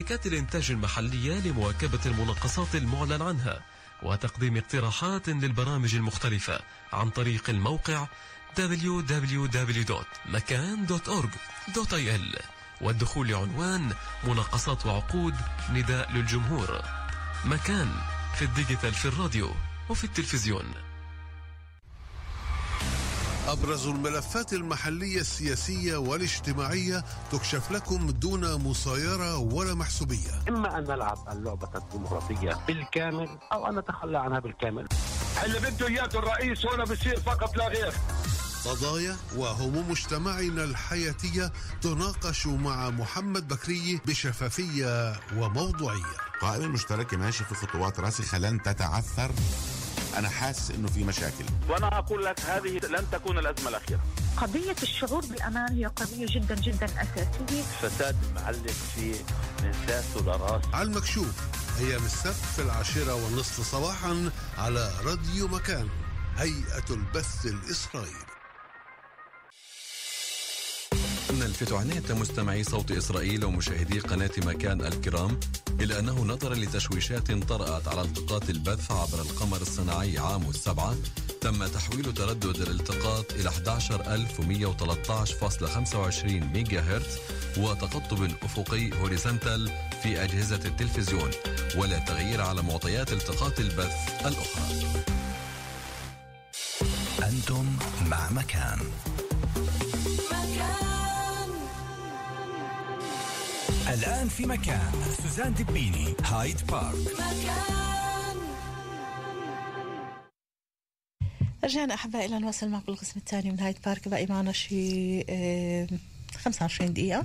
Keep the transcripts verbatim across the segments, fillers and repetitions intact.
شركات الإنتاج المحلية لمواكبة المناقصات المعلن عنها وتقديم اقتراحات للبرامج المختلفة عن طريق الموقع دبليو دبليو دبليو دوت مكان دوت أورج دوت آي إل والدخول لعنوان مناقصات وعقود نداء للجمهور. مكان في الديجيتال، في الراديو وفي التلفزيون. أبرز الملفات المحلية السياسية والاجتماعية تكشف لكم دون مصايرة ولا محسوبية. إما أن نلعب اللعبة الديمقراطية بالكامل أو أن نتخلى عنها بالكامل. اللي بده إياه الرئيس هنا بصير فقط لا غير. قضايا وهموم مجتمعنا الحياتية تناقش مع محمد بكري بشفافية وموضوعية. القائمة المشتركة ماشي في خطوات راسخة لن تتعثر. أنا حاسس إنه في مشاكل، وأنا أقول لك هذه لن تكون الأزمة الأخيرة. قضية الشعور بالأمان هي قضية جدا جدا أساسية. فساد معلق في من ساس لراس. على المكشوف أيام السبت في العاشرة والنصف صباحا على راديو مكان، هيئة البث الإسرائيلي. نلفت عناية مستمعي صوت إسرائيل ومشاهدي قناة مكان الكرام إلى أنه نظرا لتشويشات طرأت على التقاط البث عبر القمر الصناعي عام السبعة تم تحويل تردد الالتقاط إلى أحد عشر ألف ومئة وثلاثة عشر فاصلة خمسة وعشرين ميجا هرتز وتقطب أفقي هوريزونتال في أجهزة التلفزيون، ولا تغيير على معطيات التقاط البث الأخرى. أنتم مع مكان. الآن في مكان سوزان دبيني، هايد بارك. مكان. رجعنا أحبائي إلى نواصل معكم القسم الثاني من هايد بارك. بقى معنا شيء اه خمسة وعشرين دقيقة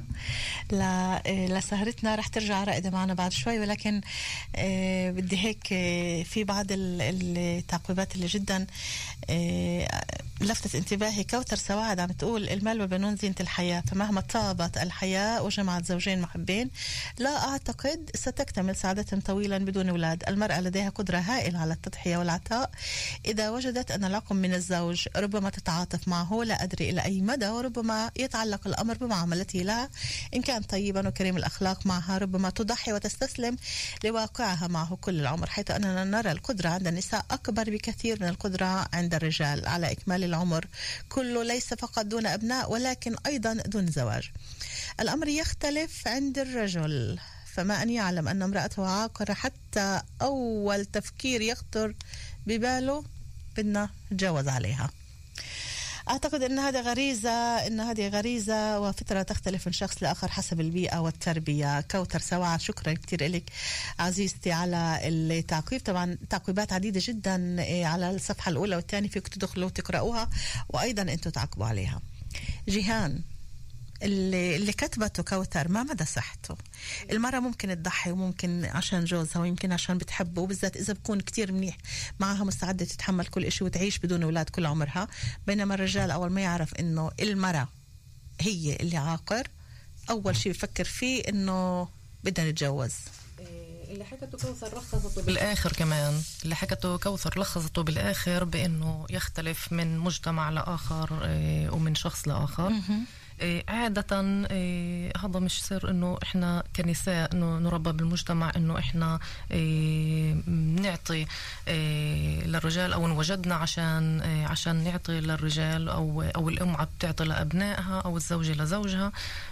لسهرتنا. رح ترجع رائدة معنا بعد شوي، ولكن اه بدي هيك اه في بعض التعقيبات اللي جدا اه لفتت انتباهي. كوثر سواعد عم تقول المال والبنون زينة الحياة، فمهما طابت الحياة وجمعت زوجين محبين لا أعتقد ستكتمل سعادتهم طويلا بدون أولاد. المرأة لديها قدرة هائلة على التضحية والعطاء إذا وجدت أن العقم من الزوج، ربما تتعاطف معه، لا أدري إلى أي مدى، وربما يتعلق الأمر بمعاملته لها إن كان طيبا وكريم الأخلاق معها، ربما تضحي وتستسلم لواقعها معه كل العمر، حيث أننا نرى القدرة عند النساء أكبر بكثير من القدرة عند الرجال على إكمال العمر كله، ليس فقط دون أبناء ولكن أيضا دون زواج. الأمر يختلف عند الرجل، فما أن يعلم أن امرأته عاقرة حتى أول تفكير يخطر بباله بدنا نتجاوز عليها. أعتقد أن هذا غريزة أن هذه غريزة وفترة تختلف من شخص لآخر حسب البيئة والتربية. كوثر سواعد شكرا كتير لك عزيزتي على التعقيب. طبعا تعقيبات عديدة جدا على الصفحة الأولى والثانية، فيك تدخلوا وتقرأوها وأيضا أنتوا تعقبوا عليها. جيهان اللي, اللي كتبته كوثر ما مدى صحته؟ المرأة ممكن تضحي وممكن عشان جوزها ويمكن عشان بتحبه، وبالذات إذا بكون كتير منيح معها مستعدة تتحمل كل إشي وتعيش بدون أولاد كل عمرها، بينما الرجال أول ما يعرف إنه المرأة هي اللي عاقر أول شيء بفكر فيه إنه بدنا نتجوز. اللي حكته كوثر لخصته بالآخر كمان اللي حكته كوثر لخصته بالآخر بأنه يختلف من مجتمع لآخر ومن شخص لآخر. إيه عادة إيه هذا مش سر انه احنا كنساء انه نربى بالمجتمع انه احنا إيه نعطي إيه للرجال او نوجدنا عشان إيه عشان نعطي للرجال او او الام بتعطي لابنائها او الزوجة لزوجها.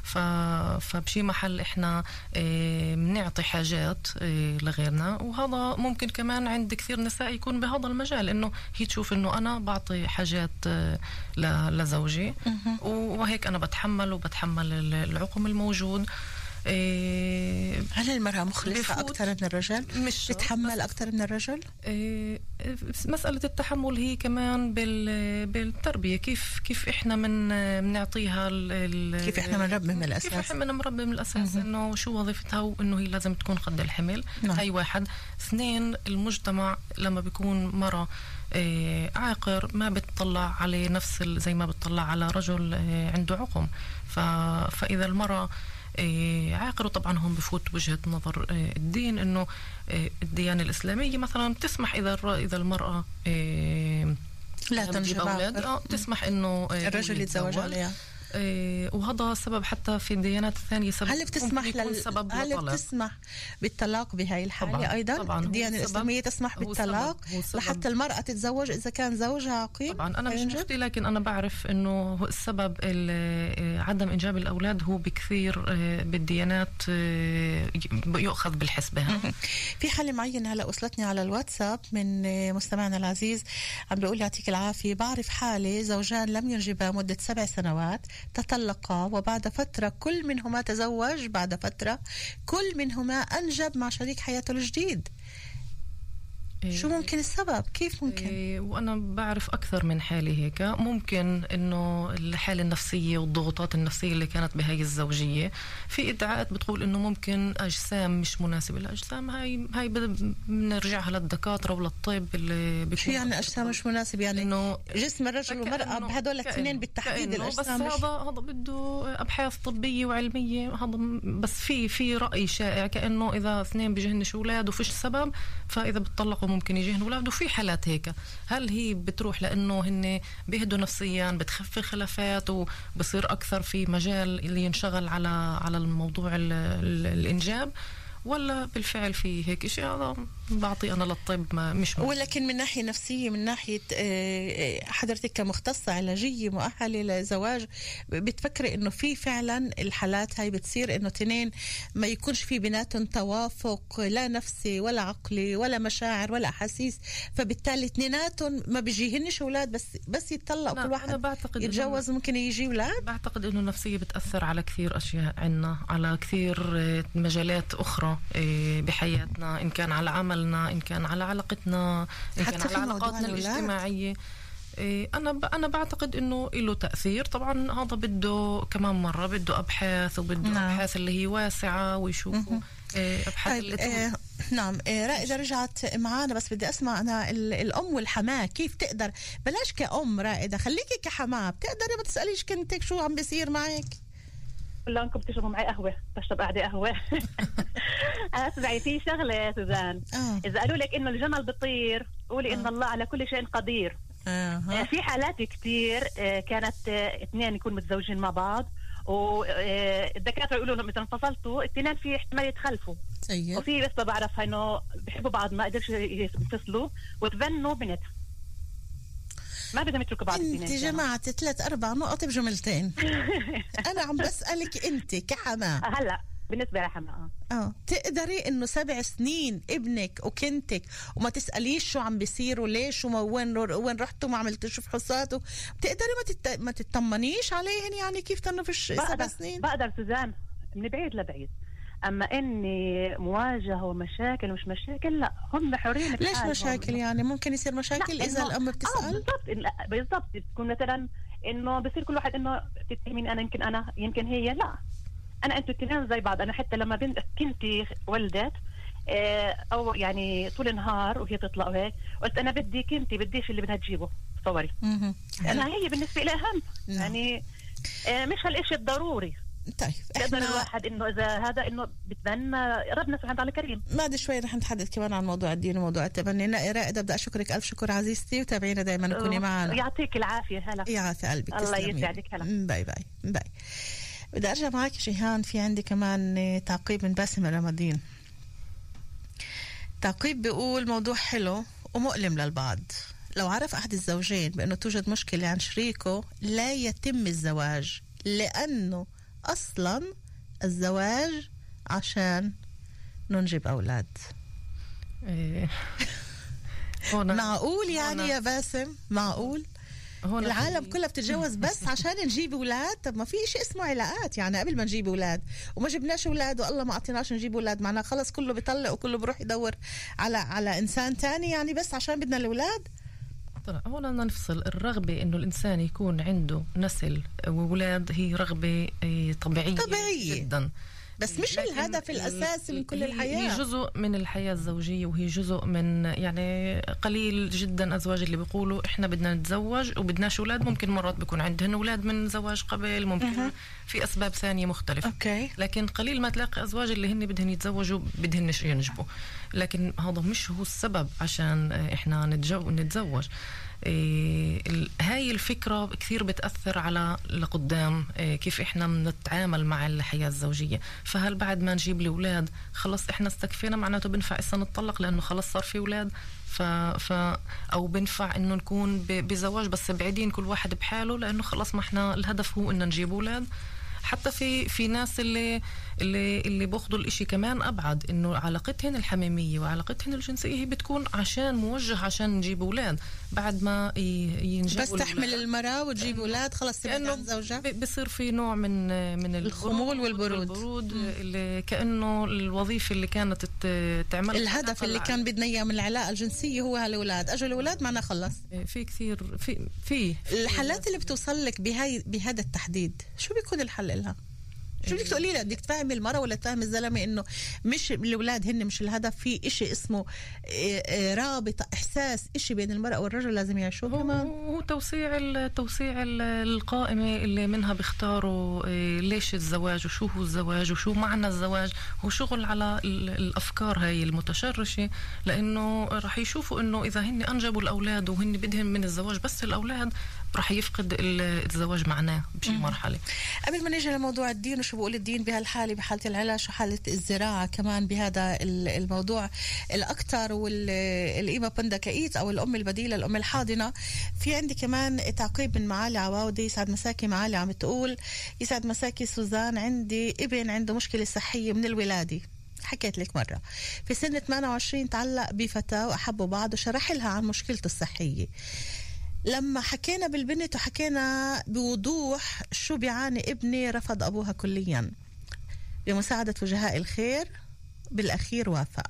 فبشي محل احنا إيه بنعطي حاجات إيه لغيرنا، وهذا ممكن كمان عند كثير نساء يكون بهذا المجال انه هي تشوف انه انا بعطي حاجات إيه لزوجي وهيك انا بتحمل وبتحمل العقم الموجود. إيه هل المرأة مخلصة أكثر من الرجل؟ مش بتحمل أكثر من الرجل؟ إيه مسألة التحمل هي كمان بالتربية، كيف كيف إحنا من بنعطيها كيف إحنا بنربي من الأساس، كيف إحنا بنربي من الأساس إنه شو وظيفتها وإنه هي لازم تكون قد الحمل. نعم. هاي واحد. اثنين، المجتمع لما بيكون مرة إيه عاقر ما بتطلع عليه نفس زي ما بتطلع على رجل إيه عنده عقم. فإذا المرأة إيه عاقر، طبعا هم بفوت وجهة نظر إيه الدين انه إيه الديانة الإسلامية مثلا تسمح اذا اذا المرأة إيه لا تنجب أولاد آه تسمح انه إيه الرجل يتزوج عليها. إيه وهذا سبب حتى في الديانات الثانية سبب. هل بتسمح لل... سبب هل لطلب. بتسمح بالطلاق بهاي الحالة؟ طبعاً. أيضا طبعاً الديانة الإسلامية تسمح بالطلاق لحتى المرأة تتزوج إذا كان زوجها عقيم. طبعا أنا مش مفتي، لكن أنا بعرف إنه السبب عدم إنجاب الأولاد هو بكثير بالديانات يؤخذ بالحسبة. في حالة معينة هلا وصلتني على الواتساب من مستمعنا العزيز عم بيقول يعطيك العافية، بعرف حالة زوجان لم ينجبا مدة سبع سنوات، تطلقا وبعد فترة كل منهما تزوج، بعد فترة كل منهما أنجب مع شريك حياته الجديد. شو ممكن السبب؟ كيف ممكن؟ إيه وأنا بعرف أكثر من حالة هيك. ممكن إنه الحالة النفسية والضغوطات النفسية اللي كانت بهاي الزوجية، في إدعاءات بتقول إنه ممكن أجسام مش مناسبة. الأجسام هاي هاي بنرجعها للدكاترة وللطب اللي بيكون. شو يعني أجسام مش مناسبة؟ يعني إنه جسم الرجل والمرأة بهدول الاثنين بالتحديد الأجسام بس هذا هذا بده أبحاث طبية وعلمية. هذا بس في في رأي شائع كأنه إذا اثنين بيجهنش أولاد وفيش سبب فإذا بتطلقوا ممكن يجيهن أولاد. وفي حالات هيك. هل هي بتروح لأنه هن بيهدوا نفسيا، بتخفف خلافات وبصير أكثر في مجال اللي ينشغل على على الموضوع ال ال الإنجاب، ولا بالفعل في هيك شيء؟ هذا بعطي أنا للطب ما مش مهم. ولكن من ناحية نفسية، من ناحية حضرتك كمختصة علاجية مؤهلة لزواج، بتفكري إنه في فعلا الحالات هاي بتصير إنه تنين ما يكونش في بيناتهم توافق لا نفسي ولا عقلي ولا مشاعر ولا أحاسيس، فبالتالي اثنيناتهم ما بيجيهنش أولاد، بس بس يتطلق كل واحد يتجوز ممكن يجي أولاد. بعتقد إنه النفسية بتأثر على كثير أشياء عنا، على كثير مجالات أخرى بحياتنا، إن كان على عملنا، إن كان على علاقتنا، إن كان على علاقاتنا الاجتماعية. أنا ب... أنا بعتقد إنه له تأثير. طبعا هذا بده كمان مرة بده أبحاث، وبده نعم. أبحاث اللي هي واسعة ويشوفوا أبحاث طيب اللي آه نعم. آه رائدة رجعت معانا، بس بدي أسمع أنا الأم والحماة كيف تقدر، بلاش كأم رائدة، خليكي كحماة، بتقدري ما تسأليش كنتك شو عم بيصير معك؟ لا انكم بتشربوا معي قهوه، بشرب قاعده قهوه. اسمعي في شغله يا سوزان، آه. اذا قالوا لك انه الجمل بيطير قولي آه. ان الله على كل شيء قدير. آه. في حالات كتير كانت اثنين يكونوا متزوجين مع بعض والدكاتره يقولوا لهم اذا انفصلتوا الاثنين في احتمال يتخلفوا. سيء. وفي بس بعرفها انه بيحبوا بعض ما قدرش ينفصلوا وتبنوا بنتها، ما بدهم يتركوا بعض. انت جمعت ثلاث اربع نقط بجملتين. انا عم بسألك انت كحماة هلا بالنسبه لحماة اه تقدري انه سبع سنين ابنك وكنتك وما تسأليش شو عم بيصير وليش وما وين وين رحتوا ما عملتوش فحوصات، بتقدري ما تت... ما تطمنيش عليهن؟ يعني كيف تنفش سبع سنين؟ بقدر سوزان من بعيد لبعيد، اما اني مواجهه ومشاكل ومش مشاكل لا، هم حرين. ليش مشاكل؟ يعني ممكن يصير مشاكل اذا الام بتسال. اه بالضبط بالضبط، تكون مثلا انه بصير كل واحد انه تتهمين انا يمكن انا يمكن هي، لا انا انتوا الاثنين زي بعض. انا حتى لما بنت كنتي ولدت او يعني طول النهار وهي تطلع وهيك قلت انا بدي كنتي بديش اللي بدها تجيبه تصوري. انا هي بالنسبه لي اهم يعني مش هالشيء الضروري. طيب احنا الواحد انه اذا هذا انه بتبنى ربنا سبحانه وتعالى كريم. بعد شوي رح نتحدث كمان عن موضوع الدين وموضوع التبني. رائدة بدي اشكرك الف شكر عزيزتي، وتابعينا دائما كوني معنا. يعطيك العافيه. هلا يعافي قلبك. الله يسعدك. هلا باي باي باي. بدي ارجع معك جيهان، في عندي كمان تعقيب من باسم الرمادين. تعقيب بيقول موضوع حلو ومؤلم للبعض. لو عرف احد الزوجين بانه توجد مشكله عن شريكه لا يتم الزواج، لانه أصلاً الزواج عشان ننجب أولاد. إيه. معقول يعني يا باسم؟ معقول؟ العالم كلها بتتجوز بس عشان نجيب أولاد؟ طب ما في شيء اسمه علاقات، يعني قبل ما نجيب أولاد وما جبناش أولاد والله ما أعطيناش نجيب أولاد، معناه خلص كله بيطلق وكله بروح يدور على على إنسان تاني يعني بس عشان بدنا الأولاد؟ طبعا هون بدنا نفصل. الرغبة إنه الإنسان يكون عنده نسل وأولاد هي رغبة طبيعية, طبيعية جدا. بس مش الهدف الأساسي من كل الحياة. هي جزء من الحياة الزوجية، وهي جزء من يعني قليل جدا أزواج اللي بيقولوا إحنا بدنا نتزوج وبدناش أولاد. ممكن مرات بيكون عندهن أولاد من زواج قبل، ممكن أه. في أسباب ثانية مختلفة. أوكي. لكن قليل ما تلاقي أزواج اللي هن بدهن يتزوجوا بدهن ينجبوا، لكن هذا مش هو السبب عشان إحنا نتزوج. إيه هاي الفكرة كثير بتأثر على لقدام، إيه كيف إحنا بنتعامل مع الحياة الزوجية. فهل بعد ما نجيب لي أولاد خلص إحنا استكفينا معناته بنفع إسا نتطلق لأنه خلص صار في أولاد؟ ف... ف... أو بنفع إنه نكون ب... بزواج بس بعيدين كل واحد بحاله لأنه خلص ما إحنا الهدف هو إنه نجيب أولاد. حتى في في ناس اللي اللي اللي باخذوا الاشي كمان ابعد، انه علاقتهن الحميميه وعلاقتهن الجنسيه هي بتكون عشان موجه عشان نجيب اولاد. بعد ما ينجبوا بس تحمل المراه وتجيب اولاد خلص تبعد عن زوجها، بصير في نوع من من الخمول والبرود, والبرود اللي كانه الوظيفه اللي كانت تعمل الهدف اللي كان بدنا اياه من العلاقه الجنسيه هو هالاولاد. اجوا الاولاد معنا خلص. في كثير في في الحالات اللي بتوصل لك بهاي بهذا التحديد شو بيكون الحل لها؟ شو بدك تقولي لها؟ بدك تفهمي المرأة ولا تفهمي الزلمة انه مش الاولاد هن مش الهدف، في اشي اسمه رابطة احساس اشي بين المرأة والرجل لازم يعيشوه كمان. هو توسيع توسيع القائمة اللي منها بيختاروا ليش الزواج وشو هو الزواج وشو معنى الزواج. هو شغل على الافكار هاي المتشرشة، لانه راح يشوفوا انه اذا هن انجبوا الاولاد وهن بدهم من الزواج بس الاولاد راح يفقد الزواج معناه بشي مرحلة. قبل ما نيجي لموضوع الدين وشو بقول الدين بهالحالة بحالة العلاج وحالة الزراعة كمان بهذا الموضوع الأكثر والقيمة بندكايت أو الأم البديلة الأم الحاضنة، في عندي كمان تعقيب من معالي عواودي. يسعد مساكي معالي، عم تقول يسعد مساكي سوزان، عندي ابن عنده مشكلة صحية من الولادة، حكيت لك مرة في سن ثمانية وعشرين تعلق بفتاة وأحبوا بعض وشرح لها عن مشكلته الصحية. لما حكينا بالبنت وحكينا بوضوح شو بيعاني ابني رفض أبوها كليا. بمساعدة وجهاء الخير بالأخير وافق.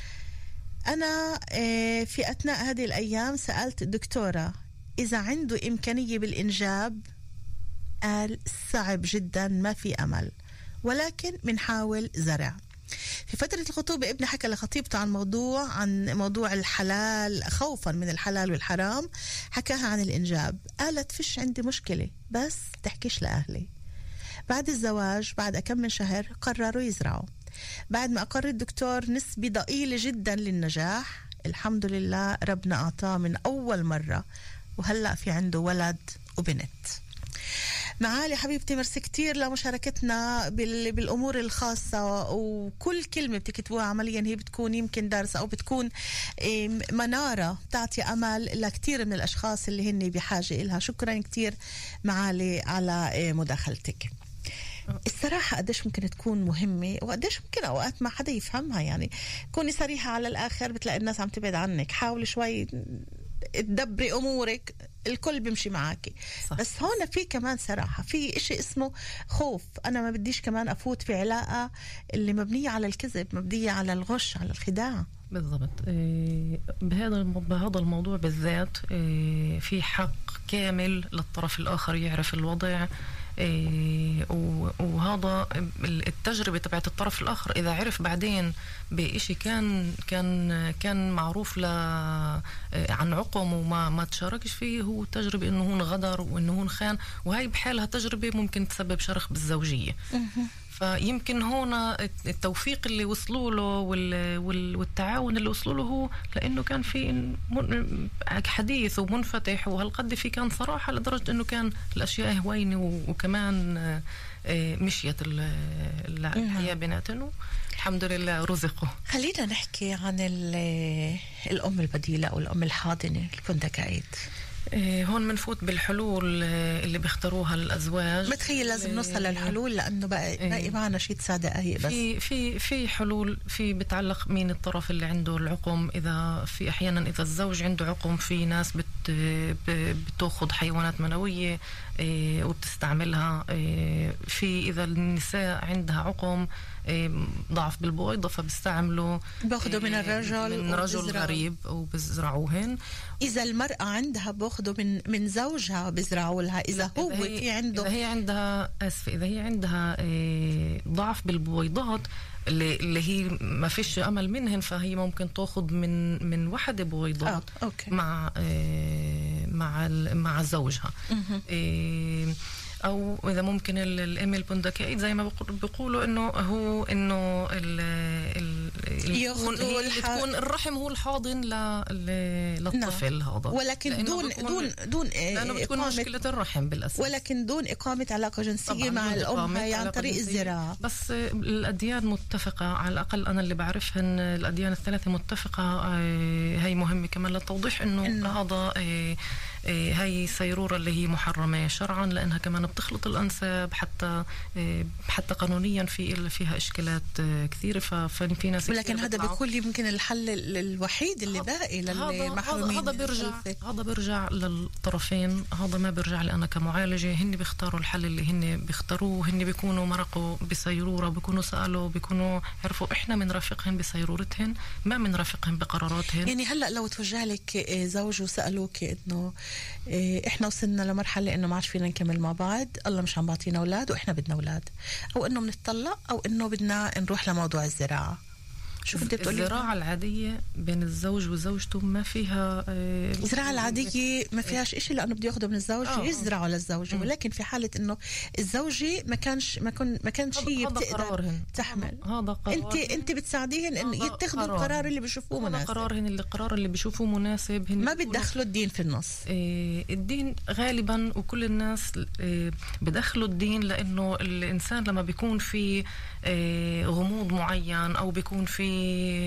أنا في أثناء هذه الأيام سألت الدكتورة إذا عنده إمكانية بالإنجاب، قال صعب جدا ما في أمل ولكن منحاول زرع. في فترة الخطوبة ابني حكى لخطيبته عن موضوع عن موضوع الحلال خوفا من الحلال والحرام، حكاها عن الإنجاب. قالت فيش عندي مشكلة بس تحكيش لأهلي. بعد الزواج بعد كم من شهر قرروا يزرعوا. بعد ما أقر الدكتور نسبة ضئيلة جدا للنجاح، الحمد لله ربنا أعطاه من أول مرة وهلأ في عنده ولد وبنت. معالي حبيبتي مرسي كتير لمشاركتنا بالأمور الخاصة، وكل كلمة بتكتبوها عمليا هي بتكون يمكن درس أو بتكون منارة تعطي أمل لكتير من الأشخاص اللي هن بحاجة إلها. شكرا كتير معالي على مداخلتك. الصراحة قديش ممكن تكون مهمة وقديش ممكن أوقات ما حدا يفهمها، يعني كوني صريحة على الآخر بتلاقي الناس عم تبعد عنك. حاولي شوي تدبري أمورك الكل بيمشي معاكي. صح. بس هون في كمان صراحة في إشي اسمه خوف. أنا ما بديش كمان أفوت في علاقة اللي مبنية على الكذب، مبنية على الغش على الخداع. بالضبط. إيه بهذا بهذا الموضوع بالذات إيه في حق كامل للطرف الآخر يعرف الوضع. إيه وهذا التجربة تبعت الطرف الآخر إذا عرف بعدين بإشي كان كان كان معروف ل عن عقم وما ما تشاركش فيه، هو تجربة إنه هون غدر وإنه هون خان، وهي بحالها تجربة ممكن تسبب شرخ بالزوجية. فيمكن هون التوفيق اللي وصلوا له والتعاون اللي وصلوا له هو لأنه كان في حديث ومنفتح وهالقد في كان صراحة لدرجة إنه كان الأشياء هوينة وكمان مشيت الحياة بيناتهم الحمد لله رزقوا. خلينا نحكي عن الأم البديلة أو الأم الحاضنة البندكايت. هون منفوت بالحلول اللي بيختاروها الأزواج. بتخيل لازم نوصل للحلول لأنه بقى باقي معنا شي تسع دقايق بس. في في في حلول في بتعلق مين الطرف اللي عنده العقم. إذا في أحيانا إذا الزوج عنده عقم في ناس بت بتأخذ حيوانات منوية وبتستعملها. في إذا النساء عندها عقم ضعف بالبويضة فبيستعملوا باخذوا من الرجل من رجل غريب وبزرعوهن. إذا المرأة عندها بخ بتاخده من من زوجها بيزرعوا لها اذا هو إذا هي في عنده اذا هي عندها اسفه اذا هي عندها إيه ضعف بالبويضات اللي, اللي هي ما فيش امل منهن، فهي ممكن تاخذ من من وحده بويضات آه، أوكي. مع إيه مع مع زوجها. إيه او اذا ممكن الام البندكائي زي ما بيقولوا انه هو انه ال ال تكون الرحم هو الحاضن للطفل. نعم. هذا ولكن دون دون دون لانه بتكون مشكله الرحم بالاساس، ولكن دون اقامه علاقه جنسيه مع الام هي عن طريق الزراعه. بس الاديان متفقه، على الاقل انا اللي بعرفهن الاديان الثلاثه متفقه. هي مهمه كمان للتوضيح انه, إنه هذا هي سيرورة اللي هي محرمة شرعا، لأنها كمان بتخلط الأنساب حتى حتى قانونيا في فيها إشكالات كثيرة. ففي ناس ولكن هذا بيكون يمكن الحل الوحيد اللي باقي للمحرومين. هذا بيرجع هذا بيرجع للطرفين، هذا ما بيرجع لي أنا كمعالجة. هن بيختاروا الحل اللي هن بيختاروه، هن بيكونوا مرقوا بسيرورة، بيكونوا سألوا، بيكونوا عرفوا إحنا من رافقهن بسيرورتهن، ما من رافقهن بقراراتهن. يعني هلأ لو توجه لك زوج وسألوك إنه احنا وصلنا لمرحله انه ما عاد فينا نكمل مع بعض، الله مش عم بعطينا اولاد واحنا بدنا اولاد، او انه بنتطلق، او انه بدنا نروح لموضوع الزراعه، شوف انت بتقولي الزراعه العاديه بين الزوج وزوجته ما فيها آه الزراعه العاديه ما فيهاش إشي، لانه بده ياخده من الزوج آه يزرعه للزوجه. م. ولكن في حاله انه الزوجه ما كانش ما كن ما كانش هي بتقدر تحمل، هذا قرار انت انت بتساعديهن انه يتخذوا القرار اللي بيشوفوه مناسب. قرارهن اللي القرار اللي بيشوفوه مناسب. ما بتدخلوا الدين في النص. آه الدين غالبا وكل الناس آه بدخلوا الدين، لانه الانسان لما بيكون في آه غموض معين او بيكون في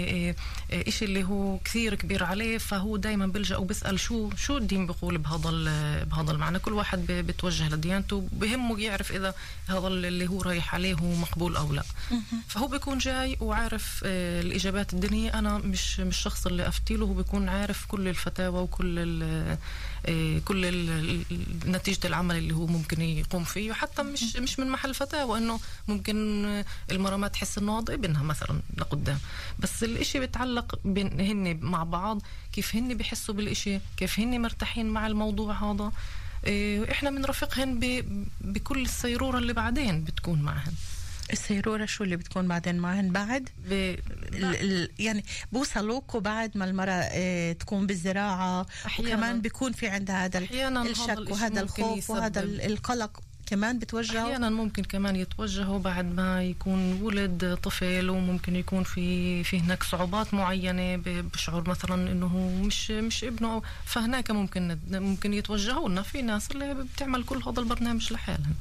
إشي اللي هو كثير كبير عليه، فهو دايما بلجأ وبسأل شو شو الدين بيقول بهذا بهذا المعنى. كل واحد بتوجه لديانته، بهمه يعرف إذا هذا اللي هو رايح عليه هو مقبول أو لا. فهو بيكون جاي وعارف الإجابات الدينية. أنا مش مش الشخص اللي أفتيله، هو بيكون عارف كل الفتاوى وكل ال كل ال نتيجة العمل اللي هو ممكن يقوم فيه، وحتى مش مش من محل فتاوى إنه ممكن المرأة ما تحس إنه هذا ابنها مثلا لقدام، بس الاشي بيتعلق بين هن مع بعض، كيف هن بيحسوا بالاشي، كيف هن مرتاحين مع الموضوع هذا. إيه احنا بنرافقهن بكل السيرورة اللي بعدين بتكون معهن. السيرورة شو اللي بتكون بعدين معهن بعد ب... ال... ال... يعني بوصلوكوا بعد ما المرأة اه تكون بالزراعة، وكمان بيكون في عندها هذا الشك وهذا الخوف وهذا القلق كمان بتوجهوا. أحيانا ممكن كمان يتوجهوا بعد ما يكون ولد طفل، وممكن يكون في في هناك صعوبات معينة، بشعور مثلا إنه هو مش مش ابنه، فهناك ممكن ممكن يتوجهوا لنا. في ناس اللي بتعمل كل هذا البرنامج لحالهم.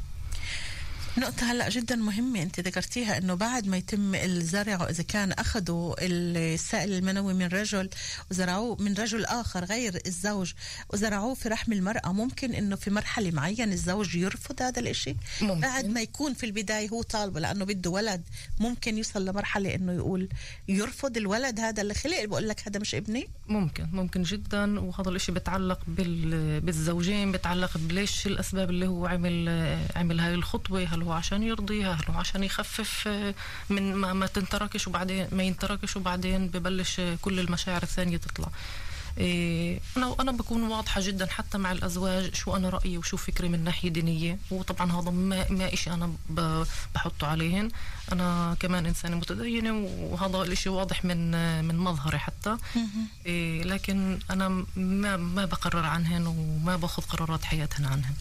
نقطة هلأ جدا مهمة أنت ذكرتيها، أنه بعد ما يتم الزرع، إذا كان أخذوا السائل المنوي من رجل وزرعوه من رجل آخر غير الزوج وزرعوه في رحم المرأة، ممكن أنه في مرحلة معينة الزوج يرفض هذا الإشي ممكن. بعد ما يكون في البداية هو طالبه لأنه بده ولد، ممكن يوصل لمرحلة أنه يقول يرفض الولد هذا اللي خلق، بقول لك هذا مش ابني. ممكن ممكن جدا. وهذا الإشي بتعلق بالزوجين، بتعلق بليش الأسباب اللي هو عمل عمل هاي الخطوة. هل هو عشان يرضيها، هل هو عشان يخفف من ما, ما تنتركش وبعدين ما ينتركش وبعدين ببلش كل المشاعر الثانية تطلع. إيه أنا أنا بكون واضحة جدا حتى مع الأزواج شو أنا رأيي وشو فكري من ناحية دينية، وطبعا هذا ما ما إشي أنا بحطه عليهن. أنا كمان إنسانة متدينة وهذا الإشي واضح من من مظهري حتى. إيه لكن أنا ما ما بقرر عنهن وما باخذ قرارات حياتهن عنهن.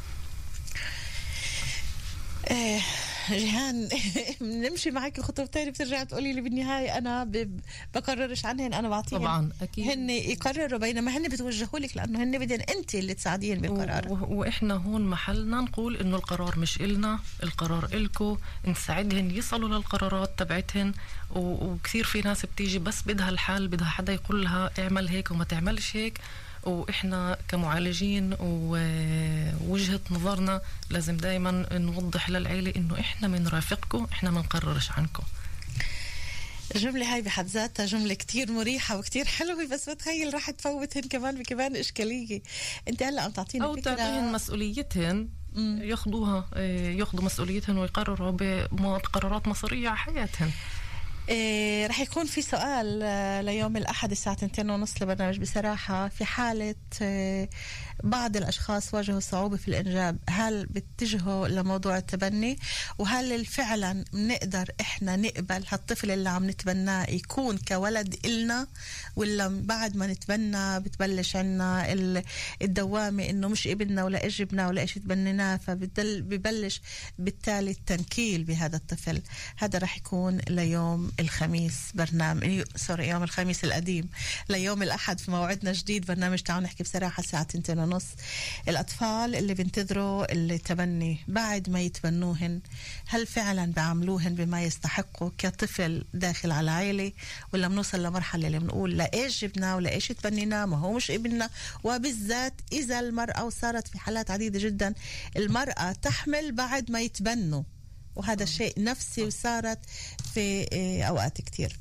ايه جيهان نمشي معك خطوتين بترجع تقولي لي بالنهاية أنا بقررش عنهن، أنا بعطيهن طبعا أكيد هن يقرروا، بينما هن بتوجهوا لك لأنه هن بدن أنت اللي تساعدين بالقرار. وإحنا هون محلنا نقول إنه القرار مش إلنا، القرار إلكو، نساعدهن يصلوا للقرارات تبعتهن. وكثير في ناس بتيجي بس بدها الحل، بدها حدا يقول لها اعمل هيك وما تعملش هيك. وإحنا كمعالجين ووجهة نظرنا لازم دايما نوضح للعيلة إنه إحنا منرافقكم، إحنا منقررش عنكم. الجملة هاي بحد ذاتها جملة كتير مريحة وكتير حلوة، بس بتخيل راح تفوتهن كمان بكمان إشكالية. أنت هلأ عم تعطينا أو تعطيهن مسؤوليتهن، ياخدوها ياخدوا مسؤوليتهن ويقرروا بقرارات مصيرية على حياتهن. إيه رح يكون في سؤال آه ليوم الأحد الساعة اثنين ونص لبرنامج بصراحة. في حالة آه بعض الأشخاص واجهوا صعوبة في الإنجاب، هل بتجهوا لموضوع التبني؟ وهل فعلا نقدر إحنا نقبل هالطفل اللي عم نتبناه يكون كولد إلنا، ولا بعد ما نتبنى بتبلش عنا الدوامة إنه مش ابننا ولا إجبنا ولا إيش تبنيناه، فبيبلش بالتالي التنكيل بهذا الطفل. هذا رح يكون ليوم الخميس برنامج سوري يوم الخميس القديم ليوم الأحد في موعدنا جديد برنامج تعالوا نحكي بصراحة الساعة اثنين ونص. الأطفال اللي بينتظروا التبني بعد ما يتبنوهن، هل فعلا بعملوهن بما يستحقوا كطفل داخل على عائلة، ولا بنوصل لمرحلة اللي بنقول لا إيش جبنا ولا إيش تبنينا، ما هو مش ابننا؟ وبالذات إذا المرأة، وصارت في حالات عديدة جدا المرأة تحمل بعد ما يتبنوا، وهذا شيء نفسي وصارت في أوقات كتير.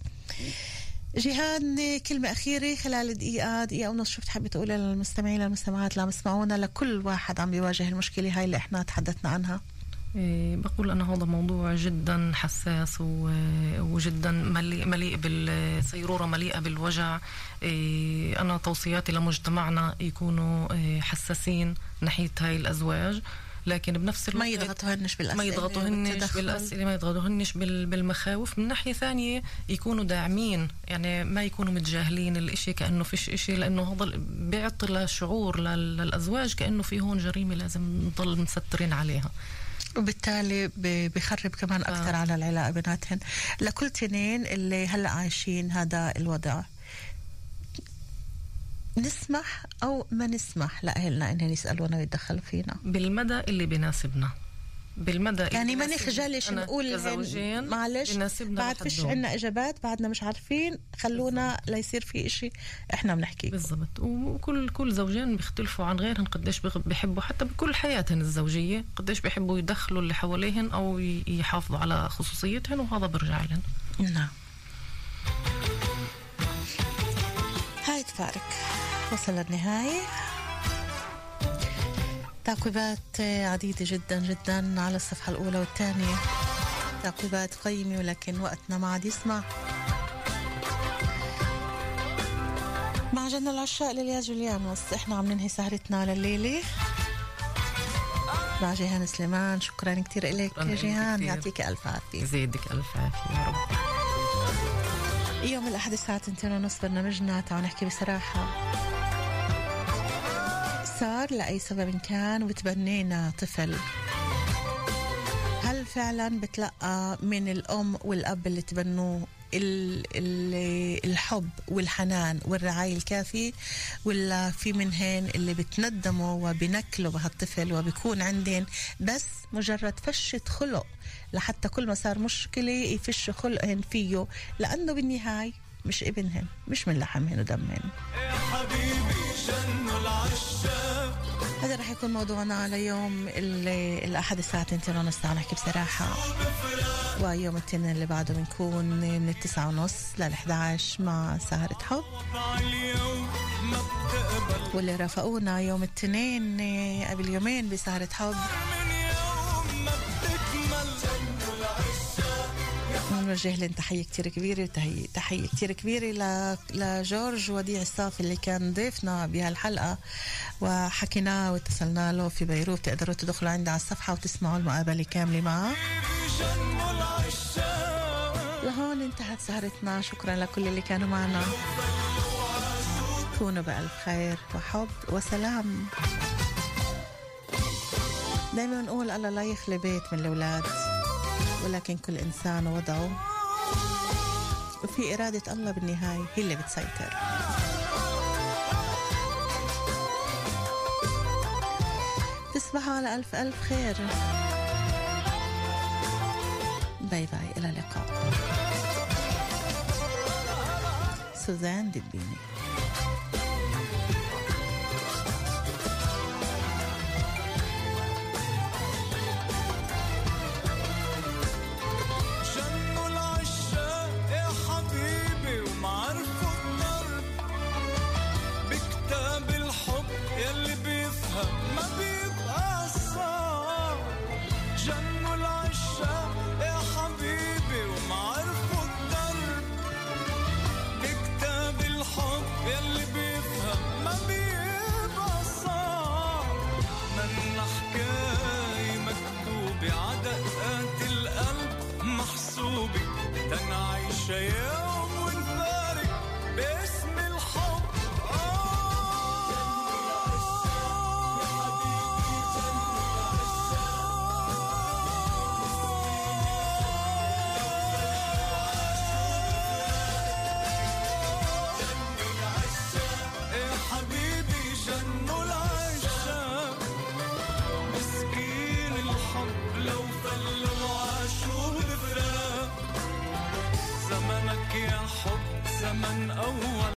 جيهان كلمة أخيرة خلال دقيقة دقيقة ونص، شو بتحبي تقولي للمستمعين للمستمعات اللي عم يسمعونا، لكل واحد عم بيواجه المشكلة هاي اللي احنا تحدثنا عنها؟ إيه بقول أنا هذا موضوع جدا حساس وجدا مليء, مليء بالسيرورة، مليئة بالوجع. إيه أنا توصياتي لمجتمعنا يكونوا إيه حساسين ناحية هاي الأزواج، لكن بنفس الوقت ما يضغطوهنش بالأسئلة ما يضغطوهنش بالأسئلة ما يضغطوهنش بالمخاوف. من ناحية ثانية يكونوا داعمين، يعني ما يكونوا متجاهلين الاشي كأنه فيش اشي، لأنه هذا بيعطي شعور للأزواج كأنه في هون جريمة لازم نضل مسترين عليها، وبالتالي بيخرب كمان أكثر آه. على العلاقة بيناتهن. لكل تنين اللي هلأ عايشين هذا الوضع، نسمح أو ما نسمح لأهلنا إنهم يسألونا ويتدخلوا فينا بالمدى اللي بيناسبنا، بالمدى يعني ما نخجلش نقول معلش بعد فيش عنا إجابات، بعدنا مش عارفين، خلونا بالزبط. لا يصير في إشي إحنا بنحكيه بالضبط. وكل كل زوجين بيختلفوا عن غيرهم قديش بيحبوا حتى بكل حياتهم الزوجية، قديش بيحبوا يدخلوا اللي حواليهن أو يحافظوا على خصوصيتهن، وهذا برجع لهم. نعم. هاي تفارق وصل للنهاية. تعقيبات عديدة جدا جدا على الصفحة الأولى والثانية، تعقيبات قيمة، ولكن وقتنا ما عاد يسمع. مع جنة العشاء لليا جوليانوس احنا عم ننهي سهرتنا لليلة مع جيهان سليمان. شكرا كتير إليك يا جيهان، يعطيك ألف عافية، يزيدك ألف عافية يا رب. يوم الأحد الساعة اثنين ونص برنامجنا تعالوا نحكي بصراحة. صار لأي سبب كان وتبنينا طفل، هل فعلا بتلقى من الأم والأب اللي تبنوه الحب والحنان والرعاية الكافي، ولا في منهن اللي بتندموا وبنكلوا بهالطفل وبيكون عندهن بس مجرد فشة خلق لحتى كل ما صار مشكلة يفش خلقهن فيه، لأنه بالنهاية مش ابنهن، مش من لحمهن ودمهن. يا حبيبي جنوا العشاق. هذا رح يكون موضوعنا على يوم الأحد الساعة اثنين ونص تعالوا نحكي بصراحة، ويوم الاثنين اللي بعده بنكون من التسعة ونص للأحد عشر مع سهرة حب، واللي رافقونا يوم الاثنين قبل يومين بسهرة حب نوجه لهم تحية كتير كبيرة، وتحية تحية كتير كبيرة لجورج وديع الصافي اللي كان ضيفنا بهالحلقة وحكيناه واتصلنا له في بيروت. تقدروا تدخلوا عنده على الصفحة وتسمعوا المقابلة كاملة معه. لهون انتهت سهرتنا، شكرا لكل اللي كانوا معنا، كونوا بألف خير وحب وسلام. دايما نقول الله لا يخلي بيت من الأولاد، ولكن كل إنسان وضعه، وفي إرادة الله بالنهاية هي اللي بتسيطر. تصبحوا على ألف ألف خير. باي باي، إلى اللقاء. سوزان دبيني. جنوا العشاق يا حبيبي ومعرفوا الدرب، باسم الحب. زمن أول